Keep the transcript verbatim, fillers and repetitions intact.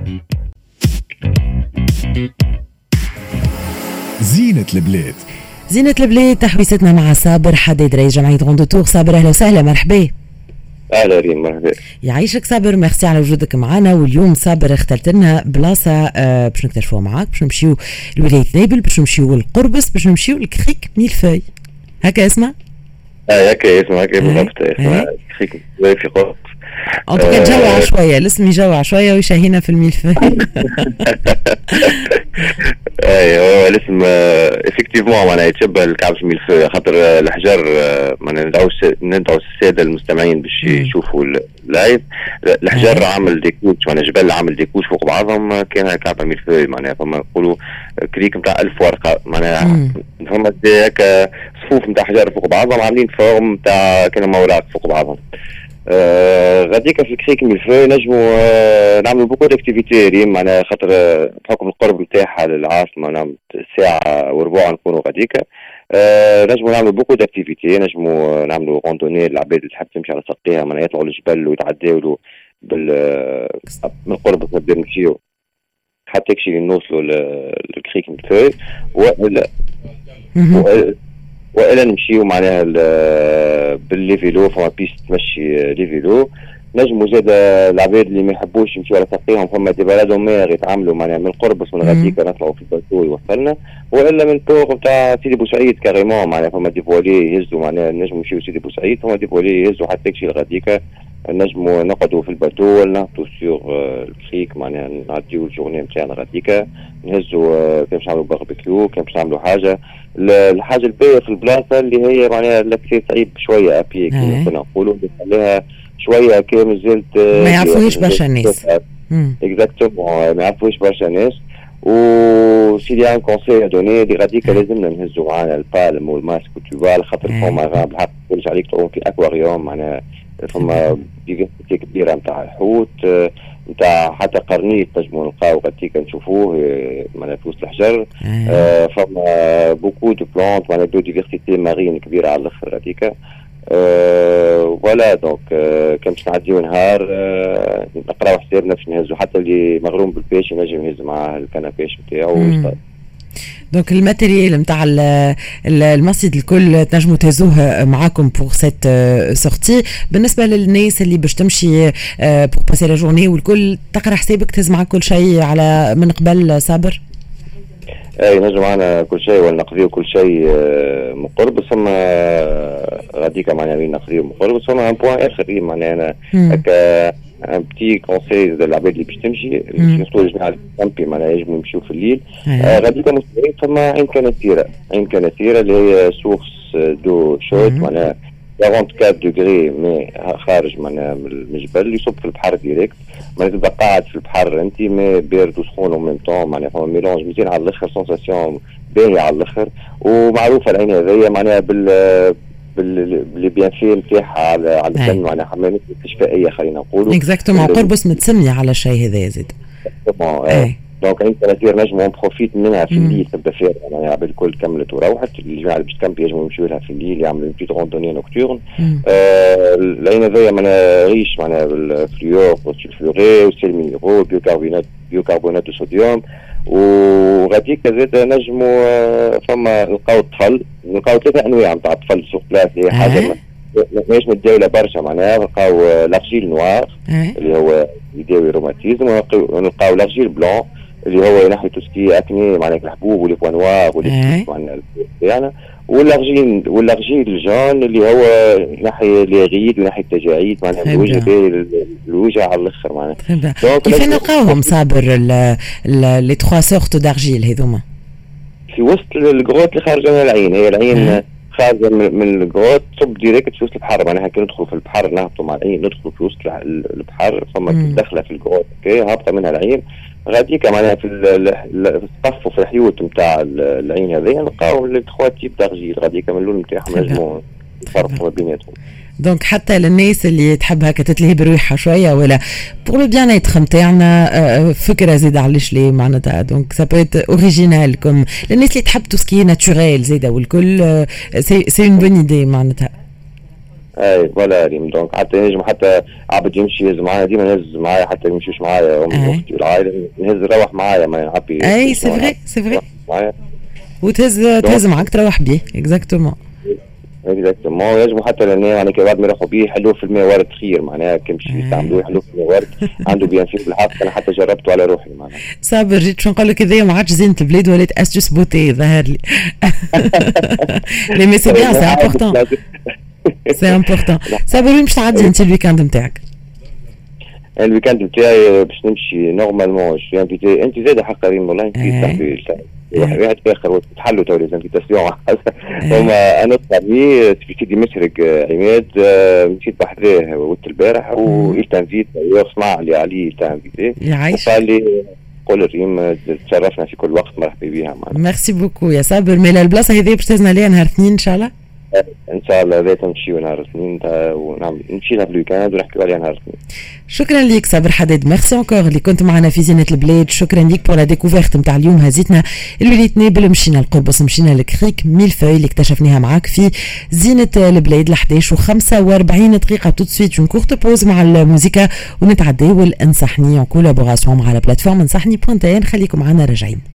زينة البلاد. زينة البلاد تحويستنا مع صابر حداد رئيس جمعية غوندو تور. صابر أهلا وسهلا، مرحبا. أهلا ريم، مرحبا. يعيشك صابر، ميرسي على وجودك معنا. واليوم صابر اخترت لنا بلاصة آه باش نكتشفوها معاك، باش نمشيو لولاية نابل، باش نمشيو للقربص، باش نمشيو لكريك ميلفوي. هكا اسمه؟ اه هكا اسمه، هكا بالضبط اسمه كريك ميلفوي في قربص. ان توكا جوع شويه، الاسم يجوع شويه ويشهينا في الملفوي. اي هو الاسم افكتيفمون معناها يتشبه الكعب الملفوي، خاطر الحجر معناها ندعو ندعو الساده المستمعين باش يشوفوا اللايف. الحجر عامل ديكوش، معناها جبل عامل ديكوش فوق بعضهم، كان كعب ملفوي معناها فما نقولوا كريك نتاع ألف ورقه، معناها فما هكا صفوف نتاع حجر فوق بعضهم عاملين فورم نتاع كانوا اوراق فوق بعضهم. آه غاديكا في الكريك ميلفوي نجموا آه نعملوا بوكو داكتيفيتي ريم، معناها خاطر آه بحكم القرب نتاعها للعاصمه نعمل ساعه وربع نكونوا غاديكا. آه نجموا نعملوا بوكو داكتيفيتي، نجموا آه نعملوا غوندوني للعباد اللي تحب تمشي على ساقيها، معناها يطلعوا للجبل ويتعداو بال آه من القرب نبداو نمشيو حتى يكشي نوصلوا للكريك ميلفوي، ولا والا نمشيو معناها باللي فيلو، فما بيست تمشي لي فيلو. نجموا زاد العباد اللي ما يحبوش يمشيو على ساقيهم، فما دي بلادو مير يتعاملوا معناها من قربص من غاديكا نطلعوا في الباتو يوصلنا، والا من بور نتاع سيدي بوسعيد كاريمون، معناها فما دي فوالي يهزوا، معناها نجموا نمشيو سيدي بوسعيد، فما دي فوالي يهزوا حتى يكشي لغاديكا. نجموا نقعدوا في الباتو ولا نهبطوا سيغ الكريك، معناها نعديو الجورني نتاعنا غاديكا، نهزوا كان باش نعملوا باربيكيو، كان باش نعملوا حاجه. الحاجه الباهيه في البلاصه اللي هي معناها الاكسي صعيب شويه ابي كيما كنا نقولوا، نخليها شويه كي مازلت ما يعرفوش برشا الناس. اكزاكتومون ما يعرفوش برشا الناس. وسيدي ان كونسي دوني اللي غاديكا لازمنا نهزوا معانا البالم والماسك والتوبال، خاطر فما بالحق تقولش عليك تعوم في اكواريوم، معناها فما ديفيرسيتي كبيره نتاع الحوت، نتاع حتى قرنيط نجموا نلقاو غاديكا نشوفوه معناها في وسط الحجر. آه فما بوكو دو بلانت، معناها دو ديفيرسيتي مارين كبيره على الاخر غاديكا. أه ولا دونك أه كان باش نعديو نهار أه نقراو حسابنا باش نهزو، حتى اللي مغروم بالبيش ينجم يهز معاه الكنابيش نتاعو. دونك الماتيريال نتاع المسجد الكل تنجموا تهزوه معاكم بور سيت سورتي. بالنسبه للناس اللي باش تمشي بور باسي لا جورني والكل، تقرا حسابك تهز معاك كل شيء على من قبل صابر؟ اي نجم معنا كل شيء ولا نقضيو كل شيء من قرب، ثم غاديكا معناها وين نقضيو من قرب، ثم ان بوان اخر معناها انا هكا ان بتي كونساي للعباد اللي باش تمشي سورتو الجماعه الكامبي معناها يجموا يمشيو في الليل. غاديكا مستويين ثم عين كناثيره، عين كناثيره اللي هي سورس دو شوت معناها أربعة وأربعين دوغري مي خارج معناها من الجبل يصب في البحر ديريكت، معناها تبقى قاعد في البحر انت مي بارد وسخون او ميم طون، معناها فما ميلونج مزيان على الاخر، سونساسيون باهيه على الاخر. ومعروفه العين هذيا معناها بال باللي بيان في نتاعها على على الدم، معناها حمامات استشفائيه خلينا نقولوا. اكزاكتومون قربص متسميه على الشيء هذا زيد. دونك عين كناثير نجموا نبروفيت منها في الليل، تبدا فيها يعني العباد الكل كملت وروحت، الجماعه اللي باش تكمبي يجموا يمشيو لها في الليل يعملوا بيت روندوني نوكتورن. آه العين هذيا معناها ريش معناها بالفليور والسلفوري والسيلمينيرو بيوكربونات بيوكربونات الصوديوم. وغاديكا زاد نجموا فما نلقاو الطفل، نلقاو ثلاثه انواع نتاع الطفل سوق بلاص، هي حاجه ماهيش متداوله برشا، معناها نلقاو لارجيل نوار اللي هو يداوي روماتيزم، ونلقاو لارجيل بلون اللي هو ينحي توسكي اكني معناها الحبوب ولي بوان نوار ولي معناها يعني، والارجين والارجين الجون اللي هو ينحي لي غيد وينحي التجاعيد معناها الوجه باهي الوجه على الاخر معناها. كيف نلقاوهم صابر لي تخوا سورت دارجيل هذوما؟ في وسط الكروت اللي خارجه من العين، هي العين خارجه من الكروت تصب ديريكت في وسط البحر، معناها كي ندخلوا في البحر نهبطوا مع العين ندخلوا في وسط البحر، فما دخله في الكروت كي هابطه منها العين غاديكا معناها في الصف وفي الحيوت نتاع العين هذيا نلقاو لي تخوا تيب دارجيل غاديكا من اللون نتاعهم نجموا نفرقوا بيناتهم. دونك حتى للناس اللي تحب هكا تتلهي بروحها شويه ولا بور لو بيان ايتر نتاعنا فكره زيد علاش لي معناتها دونك سا بو ايت اوريجينال كوم للناس اللي تحب تو سكي ناتوريل زيد والكل سي سي اون بون ايدي معناتها. اي فوالا ريم. دونك حتى نجم حتى عبد يمشي يهز معايا، ديما نهز معايا حتى يمشيش معايا امي واختي والعائله، نهز نروح معايا ما نعبي. اي سي فري سي فري وتهز تهز معاك تروح بيه. اكزاكتومون اكزاكتومون. ينجموا حتى لان يعني كي بعد ما يروحوا بيه يحلوه في الماء وارد خير، معناها كي يمشي يستعملوه يحلوه في الماء وارد عنده بيان فيه بالحق. انا حتى جربته على روحي معناها. صابر جيت شو نقول لك هذايا ما عادش زينة البلاد ولات استوس بوتي ظهر لي. لي مي سي بيان سي امبورطون سي امبورطون. صابر وين باش تعدي انت الويكاند نتاعك؟ الويكاند نتاعي باش نمشي نورمالمون شوي انفيتي. انت زاده حق ريم والله انت صاحبي واحد اخر تحلوا تو لي انفيتاسيون. هما انا صاحبي في سيدي مشرق عماد مشيت بحذاه ولت البارح ويستنفيت يسمع لي عليه تانفيتي يعيش. قال لي قول ريم تشرفنا في كل وقت، مرحبا بها معنا. ميرسي بوكو يا صابر. مي البلاصه هذه باش تهزنا عليها نهار اثنين ان شاء الله. ان شاء الله ذات نمشيو نهار الاثنين ونعمل نمشي لها في الويكاند ونحكيو عليها نهار الاثنين. شكرا ليك صابر حداد. ميرسي انكور اللي كنت معنا في زينة البلاد. شكرا ليك بور لا ديكوفيرت نتاع اليوم. هزيتنا الوليت نابل، مشينا القربص، مشينا لكريك ميل فوي اللي اكتشفناها معاك في زينة البلاد. لحداش وخمسة وأربعين دقيقة تو سويت اون كورت بوز مع الموسيقى ونتعداو انصحني اون كولابوراسيون مع لا بلاتفورم انصحني بوانت ان. خليكم معنا راجعين.